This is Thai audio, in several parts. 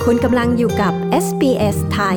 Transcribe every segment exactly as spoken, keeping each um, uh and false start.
คุณกำลังอยู่กับ เอส บี เอส ไทย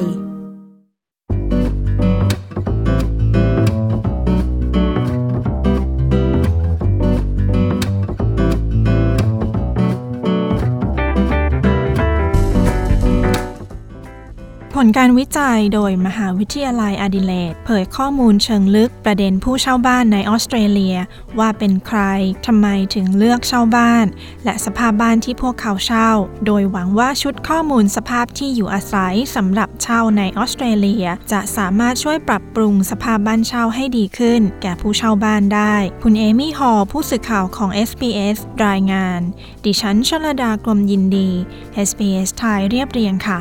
ผลการวิจัยโดยมหาวิทยาลัยแอดิเลดเผยข้อมูลเชิงลึกประเด็นผู้เช่าบ้านในออสเตรเลียว่าเป็นใครทำไมถึงเลือกเช่าบ้านและสภาพบ้านที่พวกเขาเช่าโดยหวังว่าชุดข้อมูลสภาพที่อยู่อาศัยสำหรับเช่าในออสเตรเลียจะสามารถช่วยปรับปรุงสภาพบ้านเช่าให้ดีขึ้นแก่ผู้เช่าบ้านได้คุณเอมี่ฮอลผู้สื่อข่าวของ เอส บี เอส รายงานดิฉันชลดากรมยินดี เอส บี เอส ไทยเรียบเรียงค่ะ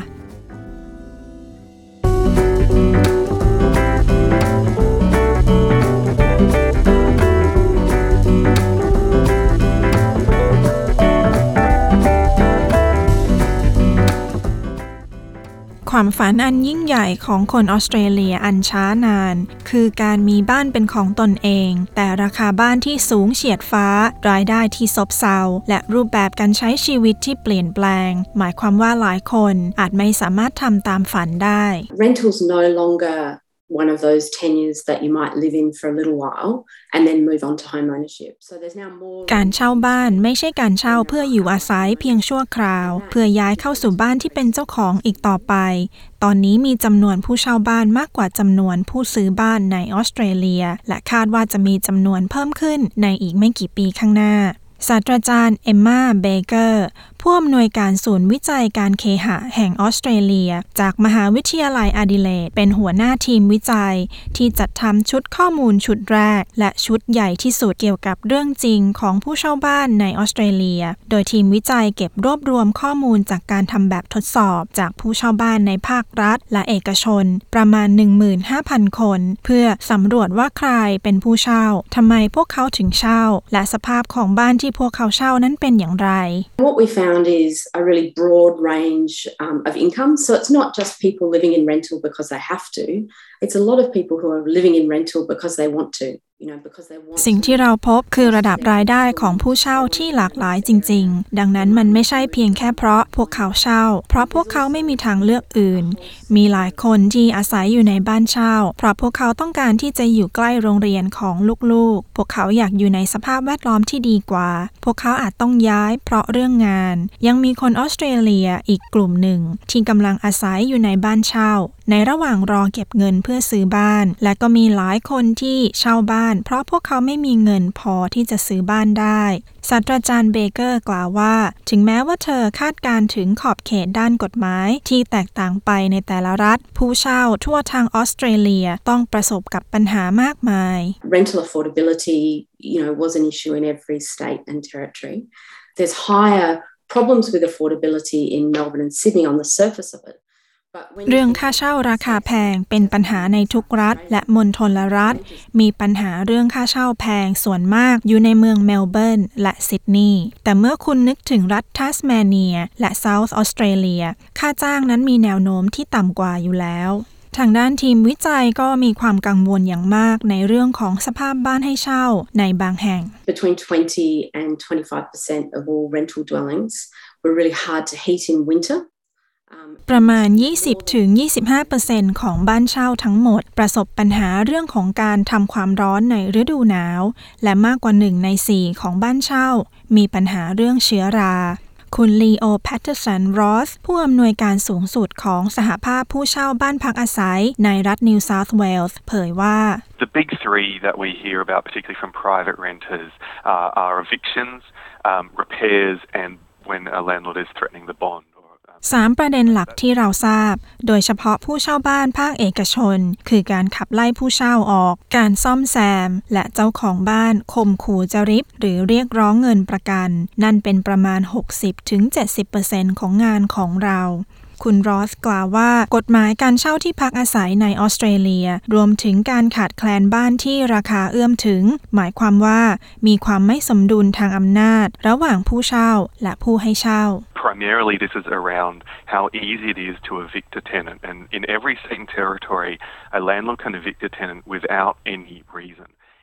ความฝันอันยิ่งใหญ่ของคนออสเตรเลียอันช้านานคือการมีบ้านเป็นของตนเองแต่ราคาบ้านที่สูงเฉียดฟ้ารายได้ที่ซบเซาและรูปแบบการใช้ชีวิตที่เปลี่ยนแปลงหมายความว่าหลายคนอาจไม่สามารถทำตามฝันได้ Rentals no longer one of those tenures that you might live in for a little while and then move on to home ownership. So there's now more การเช่าบ้านไม่ใช่การเช่าเพื่ออยู่อาศัยเพียงชั่วคราวเพื่อย้ายเข้าสู่บ้านที่เป็นเจ้าของอีกต่อไปตอนนี้มีจำนวนผู้เช่าบ้านมากกว่าจำนวนผู้ซื้อบ้านในออสเตรเลียและคาดว่าจะมีจำนวนเพิ่มขึ้นในอีกไม่กี่ปีข้างหน้าศาสตราจารย์เอมม่าเบเกอร์ผู้อำนวยการศูนย์วิจัยการเคหะแห่งออสเตรเลียจากมหาวิทยาลัยแอดิเลดเป็นหัวหน้าทีมวิจัยที่จัดทำชุดข้อมูลชุดแรกและชุดใหญ่ที่สุดเกี่ยวกับเรื่องจริงของผู้เช่าบ้านในออสเตรเลียโดยทีมวิจัยเก็บรวบรวมข้อมูลจากการทำแบบทดสอบจากผู้เช่าบ้านในภาครัฐและเอกชนประมาณ หนึ่งหมื่นห้าพัน คนเพื่อสำรวจว่าใครเป็นผู้เช่าทำไมพวกเขาถึงเช่าและสภาพของบ้านที่พวกเขาเช่านั้นเป็นอย่างไร What we found is a really broad range um, of income. So it's not just people living in rental because they have to. It's a lot of people who are living in rental because they want to. สิ่งที่เราพบคือระดับรายได้ของผู้เช่าที่หลากหลายจริงๆดังนั้นมันไม่ใช่เพียงแค่เพราะพวกเขาเช่าเพราะพวกเขาไม่มีทางเลือกอื่นมีหลายคนที่อาศัยอยู่ในบ้านเช่าเพราะพวกเขาต้องการที่จะอยู่ใกล้โรงเรียนของลูกๆพวกเขาอยากอยู่ในสภาพแวดล้อมที่ดีกว่าพวกเขาอาจต้องย้ายเพราะเรื่องงานยังมีคนออสเตรเลียอีกกลุ่มหนึ่งที่กำลังอาศัยอยู่ในบ้านเช่าในระหว่างรอเก็บเงินเพื่อซื้อบ้านและก็มีหลายคนที่เช่าบ้านเพราะพวกเขาไม่มีเงินพอที่จะซื้อบ้านได้ศาสตราจารย์เบเกอร์กล่าวว่าถึงแม้ว่าเธอคาดการถึงขอบเขตด้านกฎหมายที่แตกต่างไปในแต่ละรัฐผู้เช่าทั่วทางออสเตรเลียต้องประสบกับปัญหามากมาย Rental affordability, you know, was an issue in every state and territory. There's higher problems with affordability in Melbourne and Sydney on the surface of it. เรื่องค่าเช่าราคาแพงเป็นปัญหาในทุกรัฐและมณฑลรัฐมีปัญหาเรื่องค่าเช่าแพงส่วนมากอยู่ในเมืองเมลเบิร์นและซิดนีย์แต่เมื่อคุณนึกถึงรัฐทัสเมาเนียและเซาท์ออสเตรเลียค่าจ้างนั้นมีแนวโน้มที่ต่ำกว่าอยู่แล้วทางด้านทีมวิจัยก็มีความกังวลอย่างมากในเรื่องของสภาพบ้านให้เช่าในบางแห่ง Between twenty and twenty-five percent of all rental dwellings were really hard to heat in winter. ประมาณ ยี่สิบถึงยี่สิบห้าเปอร์เซ็นต์ ของบ้านเช่าทั้งหมดประสบปัญหาเรื่องของการทำความร้อนในฤดูหนาวและมากกว่าหนึ่งในสี่ของบ้านเช่ามีปัญหาเรื่องเชื้อราคุณลีโอแพตเทอร์สันรอสผู้อำนวยการสูงสุดของสหภาพผู้เช่าบ้านพักอาศัยในรัฐนิวเซาท์เวลส์เผยว่า The big three that we hear about, particularly from private renters, uh, are evictions, um, repairs, and when a landlord is threatening the bond. สามประเด็นหลักที่เราทราบโดยเฉพาะผู้เช่าบ้านภาคเอกชนคือการขับไล่ผู้เช่าออกการซ่อมแซมและเจ้าของบ้านข่มขู่จะริบหรือเรียกร้องเงินประกันนั่นเป็นประมาณ หกสิบถึงเจ็ดสิบเปอร์เซ็นต์ ของงานของเราคุณรอสกล่าวว่ากฎหมายการเช่าที่พักอาศัยในออสเตรเลียรวมถึงการขาดแคลนบ้านที่ราคาเอื้อมถึงหมายความว่ามีความไม่สมดุลทางอำนาจระหว่างผู้เช่าและผู้ให้เช่า Primarily this is around how easy it is to evict a tenant and in every state and territory a landlord can evict a tenant without any reason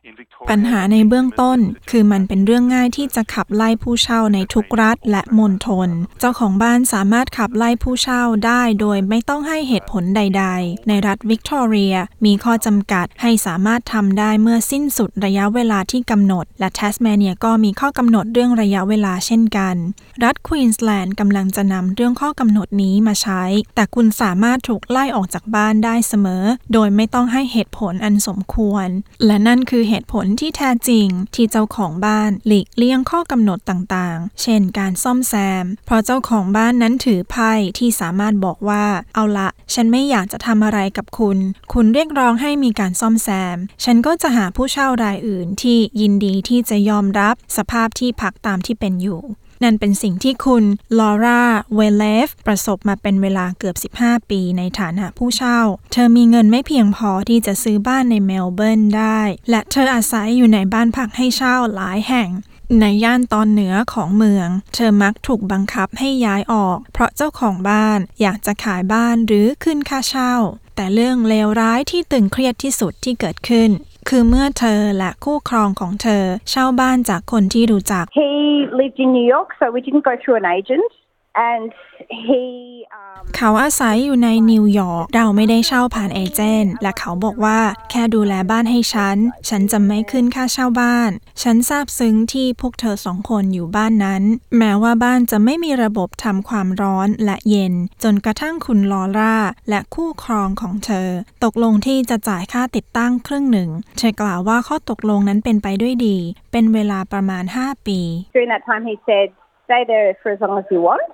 ปัญหาในเบื้องต้นคือมันเป็นเรื่องง่ายที่จะขับไล่ผู้เช่าในทุกรัฐและมณฑลเจ้าของบ้านสามารถขับไล่ผู้เช่าได้โดยไม่ต้องให้เหตุผลใดๆในรัฐวิกตอเรียมีข้อจำกัดให้สามารถทำได้เมื่อสิ้นสุดระยะเวลาที่กำหนดและแทสเมเนียก็มีข้อกำหนดเรื่องระยะเวลาเช่นกันรัฐควีนสแลนด์กำลังจะนำเรื่องข้อกำหนดนี้มาใช้แต่คุณสามารถถูกไล่ออกจากบ้านได้เสมอโดยไม่ต้องให้เหตุผลอันสมควรและนั่นคือเหตุผลที่แท้จริงที่เจ้าของบ้านหลีกเลี่ยงข้อกำหนดต่างๆเช่นการซ่อมแซมเพราะเจ้าของบ้านนั้นถือไพ่ที่สามารถบอกว่าเอาละฉันไม่อยากจะทำอะไรกับคุณคุณเรียกร้องให้มีการซ่อมแซมฉันก็จะหาผู้เช่ารายอื่นที่ยินดีที่จะยอมรับสภาพที่พักตามที่เป็นอยู่นั่นเป็นสิ่งที่คุณลอร่าเวเลฟประสบมาเป็นเวลาเกือบสิบห้าปีในฐานะผู้เช่าเธอมีเงินไม่เพียงพอที่จะซื้อบ้านในเมลเบิร์นได้และเธออาศัยอยู่ในบ้านพักให้เช่าหลายแห่งในย่านตอนเหนือของเมืองเธอมักถูกบังคับให้ย้ายออกเพราะเจ้าของบ้านอยากจะขายบ้านหรือขึ้นค่าเช่าแต่เรื่องเลวร้ายที่ตึงเครียดที่สุดที่เกิดขึ้นคือเมื่อเธอและคู่ครองของเธอเช่าบ้านจากคนที่รู้จัก He lived in New York, so we didn't go through an agent, and he um... เขาอาศัยอยู่ในนิวยอร์กเราไม่ได้เช่าผ่านเอเจนต์และเขาบอกว่าแค่ดูแลบ้านให้ฉันฉันจะไม่ขึ้นค่าเช่าบ้านฉันซาบซึ้งที่พวกเธอสองคนอยู่บ้านนั้นแม้ว่าบ้านจะไม่มีระบบทำความร้อนและเย็นจนกระทั่งคุณลอร่าและคู่ครองของเธอตกลงที่จะจ่ายค่าติดตั้งครึ่งหนึ่งเธอกล่าวว่าข้อตกลงนั้นเป็นไปด้วยดีเป็นเวลาประมาณห้าปี During that time he said stay there for as long as you want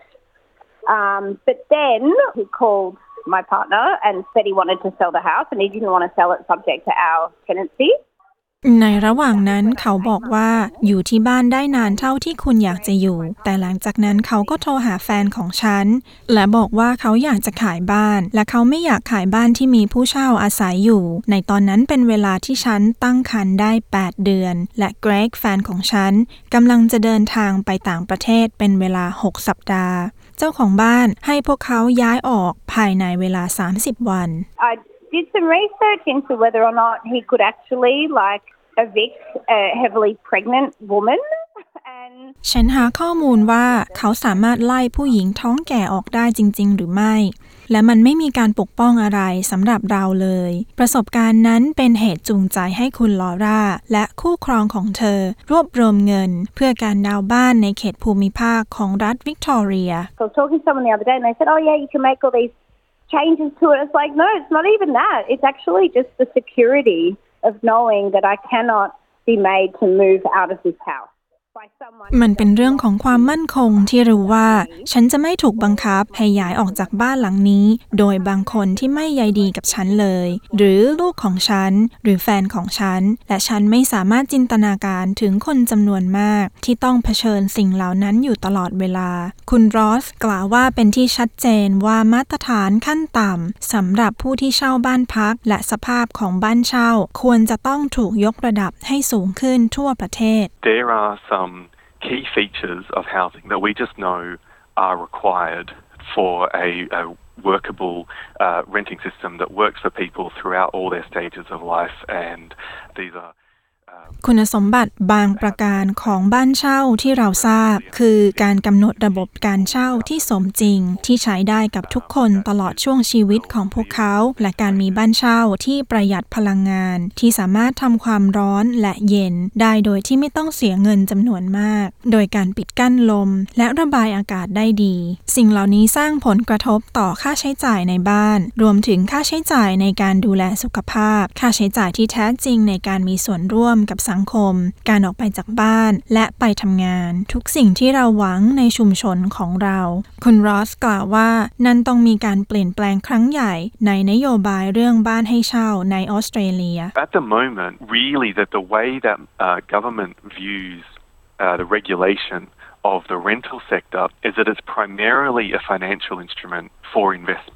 um, but then he called my partner and said he wanted to sell the house and he didn't want to sell it subject to our tenancy ในระหว่างนั้นเขาบอกว่าอยู่ที่บ้านได้นานเท่าที่คุณอยากจะอยู่แต่หลังจากนั้นเขาก็โทรหาแฟนของฉันและบอกว่าเขาอยากจะขายบ้านและเขาไม่อยากขายบ้านที่มีผู้เช่าอาศัยอยู่ในตอนนั้นเป็นเวลาที่ฉันตั้งครรภ์ได้แปดเดือนและเกรกแฟนของฉันกำลังจะเดินทางไปต่างประเทศเป็นเวลาหกสัปดาห์เจ้าของบ้านให้พวกเขาย้ายออกภายในเวลาสามสิบวัน I did some research into whether or not he could actually like evict a heavily pregnant woman and ฉันหาข้อมูลว่าเขาสามารถไล่ผู้หญิงท้องแก่ออกได้จริงๆหรือไม่และมันไม่มีการปกป้องอะไรสำหรับเราเลยประสบการณ์นั้นเป็นเหตุจูงใจให้คุณลอร่าและคู่ครองของเธอรวบรวมเงินเพื่อการดาวน์บ้านในเขตภูมิภาคของรัฐวิกตอเรีย I was talking to someone the other day and they said oh yeah you can make all these changes to it it's like no it's not even that it's actually just the security of knowing that I cannot be made to move out of this house มันเป็นเรื่องของความมั่นคงที่รู้ว่าฉันจะไม่ถูกบังคับให้ย้ายออกจากบ้านหลังนี้โดยบางคนที่ไม่ใยดีกับฉันเลยหรือลูกของฉันหรือแฟนของฉันและฉันไม่สามารถจินตนาการถึงคนจำนวนมากที่ต้องเผชิญสิ่งเหล่านั้นอยู่ตลอดเวลาคุณรอสกล่าวว่าเป็นที่ชัดเจนว่ามาตรฐานขั้นต่ำสำหรับผู้ที่เช่าบ้านพักและสภาพของบ้านเช่าควรจะต้องถูกยกระดับให้สูงขึ้นทั่วประเทศ There are some key features of housing that we just know are required for a, a workable uh, renting system that works for people throughout all their stages of life and these are คุณสมบัติบางประการของบ้านเช่าที่เราทราบคือการกำหนดระบบการเช่าที่สมจริงที่ใช้ได้กับทุกคนตลอดช่วงชีวิตของพวกเขาและการมีบ้านเช่าที่ประหยัดพลังงานที่สามารถทำความร้อนและเย็นได้โดยที่ไม่ต้องเสียเงินจำนวนมากโดยการปิดกั้นลมและระบายอากาศได้ดีสิ่งเหล่านี้สร้างผลกระทบต่อค่าใช้จ่ายในบ้านรวมถึงค่าใช้จ่ายในการดูแลสุขภาพค่าใช้จ่ายที่แท้จริงในการมีส่วนร่วมกับสังคมการออกไปจากบ้านและไปทำงานทุกสิ่งที่เราหวังในชุมชนของเราคุณรอสกล่าวว่านั่นต้องมีการเปลี่ยนแปลงครั้งใหญ่ในนโยบายเรื่องบ้านให้เช่าในออสเตรเลีย At the moment really that the way that uh, government views uh, the regulation of the rental sector is that it's primarily a financial instrument for investment. It's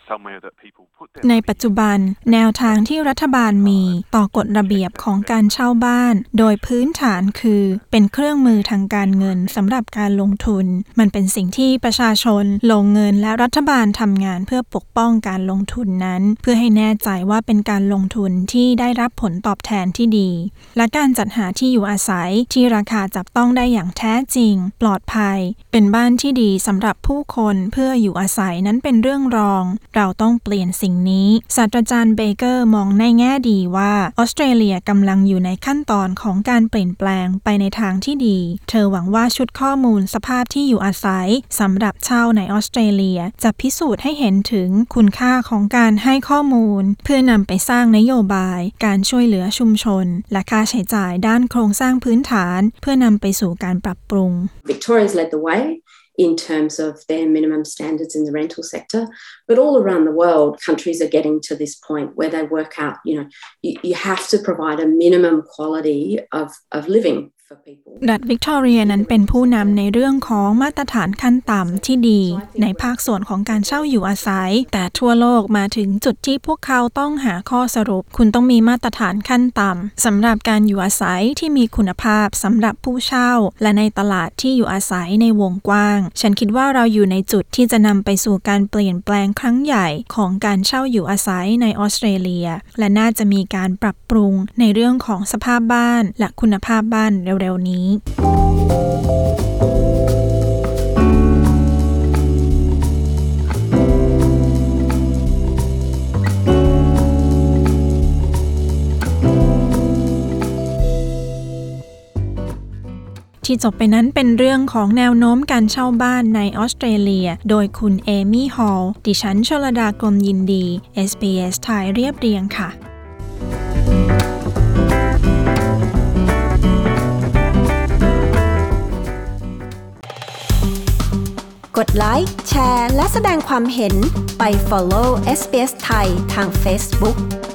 somewhere that people put their ในปัจจุบันแนวทางที่รัฐบาลมีต่อกฎระเบียบของการเช่าบ้านโดยพื้นฐานคือเป็นเครื่องมือทางการเงินสำหรับการลงทุนมันเป็นสิ่งที่ประชาชนลงเงินและรัฐบาลทำงานเพื่อปกป้องการลงทุนนั้นเพื่อให้แน่ใจว่าเป็นการลงทุนที่ได้รับผลตอบแทนที่ดีและการจัดหาที่อยู่อาศัยที่ราคาจับต้องได้อย่างแท้จริงปลอดภัยเป็นบ้านที่ดีสำหรับผู้คนเพื่ออยู่อาศัยนั้นเป็นเรื่องรองเราต้องเปลี่ยนสิ่งนี้ศาสตราจารย์เบเกอร์มองในแง่ดีว่าออสเตรเลียกำลังอยู่ในขั้นตอนของการเปลี่ยนแปลงไปในทางที่ดีเธอหวังว่าชุดข้อมูลสภาพที่อยู่อาศัยสำหรับเช่าในออสเตรเลียจะพิสูจน์ให้เห็นถึงคุณค่าของการให้ข้อมูลเพื่อนำไปสร้างนโยบายการช่วยเหลือชุมชนและค่าใช้จ่ายด้านโครงสร้างพื้นฐานเพื่อนำไปสู่การปรับปรุง Victoria's led the way in terms of their minimum standards in the rental sector. But all around the world, countries are getting to this point where they work out, you know, you, you have to provide a minimum quality of, of living. รัฐวิกตอเรียนั้นเป็นผู้นำในเรื่องของมาตรฐานขั้นต่ำที่ดีในภาคส่วนของการเช่าอยู่อาศัยแต่ทั่วโลกมาถึงจุดที่พวกเขาต้องหาข้อสรุปคุณต้องมีมาตรฐานขั้นต่ำสำหรับการอยู่อาศัยที่มีคุณภาพสำหรับผู้เช่าและในตลาดที่อยู่อาศัยในวงกว้างฉันคิดว่าเราอยู่ในจุดที่จะนำไปสู่การเปลี่ยนแปลงครั้งใหญ่ของการเช่าอยู่อาศัยในออสเตรเลียและน่าจะมีการปรับปรุงในเรื่องของสภาพบ้านและคุณภาพบ้านเร็วๆนี้ที่จบไปนั้นเป็นเรื่องของแนวโน้มการเช่าบ้านในออสเตรเลียโดยคุณเอมี่ฮอลล์ดิฉันชลดากรมยินดี เอส บี เอส ไทยเรียบเรียงค่ะกดไลค์แชร์และแสดงความเห็นไป follow เอส บี เอส ไทยทาง Facebook